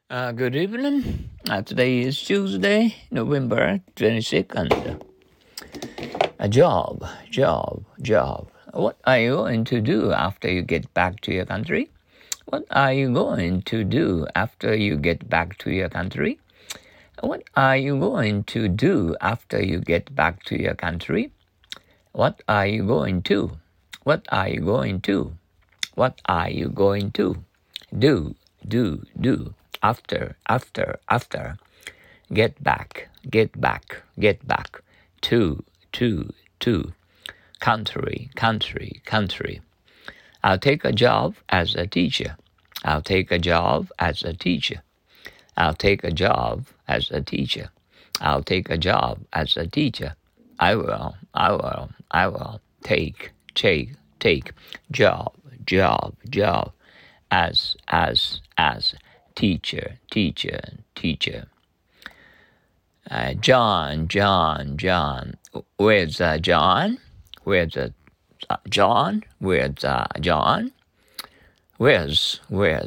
Good evening. Today is Tuesday, November 22nd. A job. What are you going to do after you get back to your country? What are you going to do after you get back to your country? What are you going to do after you get back to your country? What are you going to? What are you going to? What are you going to? Do. After. Get back. To. Country. I'll take a job as a teacher. I'll take a job as a teacher. I'll take a job as a teacher. I'll take a job as a teacher. I will. Take. Job. As. Teacher. John. Where's John? Where's John? Where's John? Where's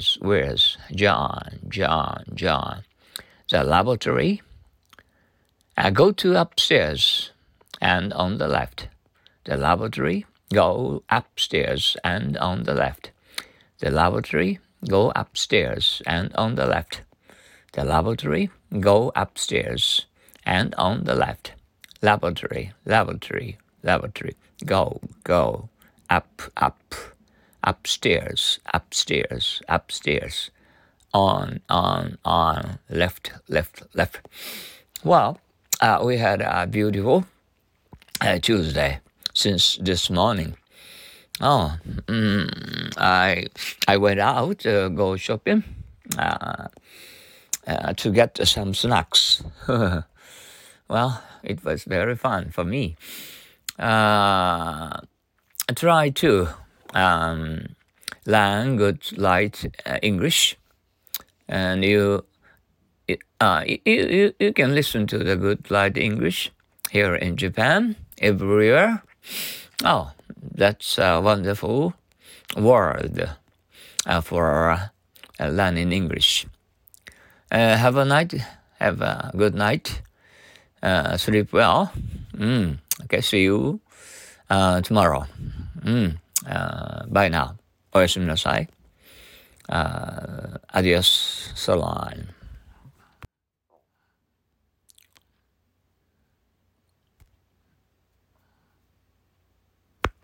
John? The laboratory. Go to upstairs and on the left. The laboratory. Go upstairs and on the left. The laboratory. Go upstairs and on the left. The laboratory. Go upstairs and on the left. Laboratory. Go. Up. Upstairs. On. Left. Well, we had a beautiful Tuesday since this morning. I went out to go shopping to get some snacks. Well, it was very fun for me. Try to learn good light English, and you can listen to the good light English here in Japan, everywhere. Oh, that's a wonderful word for learning English. Have a good night. Sleep well. Okay, see you tomorrow. Bye now. おやすみなさい。Adios, so long.